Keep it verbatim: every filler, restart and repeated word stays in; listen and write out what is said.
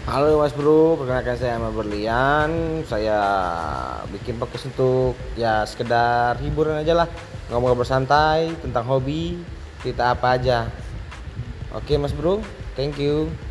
Halo Mas Bro, perkenalkan saya Ahmad Berlian. Saya bikin podcast untuk ya sekedar hiburan aja lah, ngobrol bersantai tentang hobi, kita apa aja. Oke Mas Bro, thank you.